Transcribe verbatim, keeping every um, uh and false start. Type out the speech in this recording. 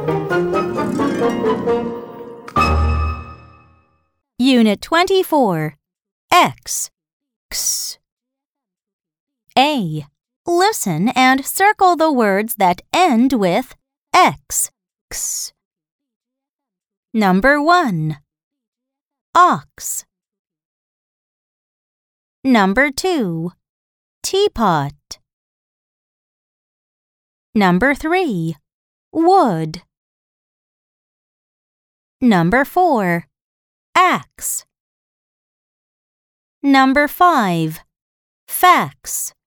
Unit twenty-four. X. X. A. Listen and circle the words that end with X. X. Number one. Ox. Number two. Teapot. Number three. Wood. Number four. Axe. Number five. Fax.